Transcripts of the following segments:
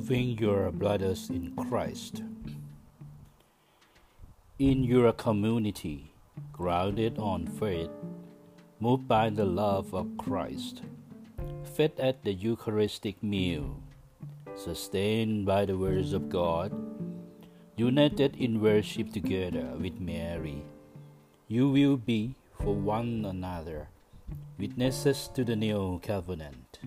Loving your brothers in Christ. In your community, grounded on faith, moved by the love of Christ, fed at the Eucharistic meal, sustained by the words of God, united in worship together with Mary, you will be for one another witnesses to the new covenant.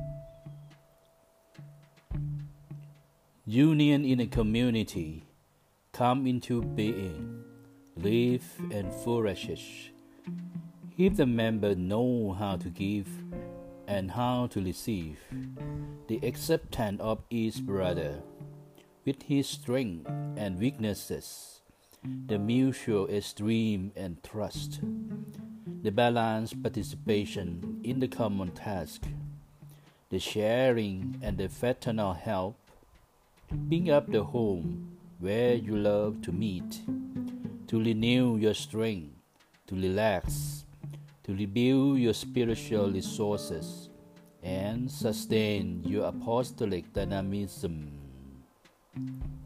Union in a community come into being, live and flourishes if the members know how to give and how to receive the acceptance of each brother with his strengths and weaknesses, the mutual esteem and trust, the balanced participation in the common task, the sharing and the fraternal help. Bring up the home where you love to meet, to renew your strength, to relax, to rebuild your spiritual resources, and sustain your apostolic dynamism.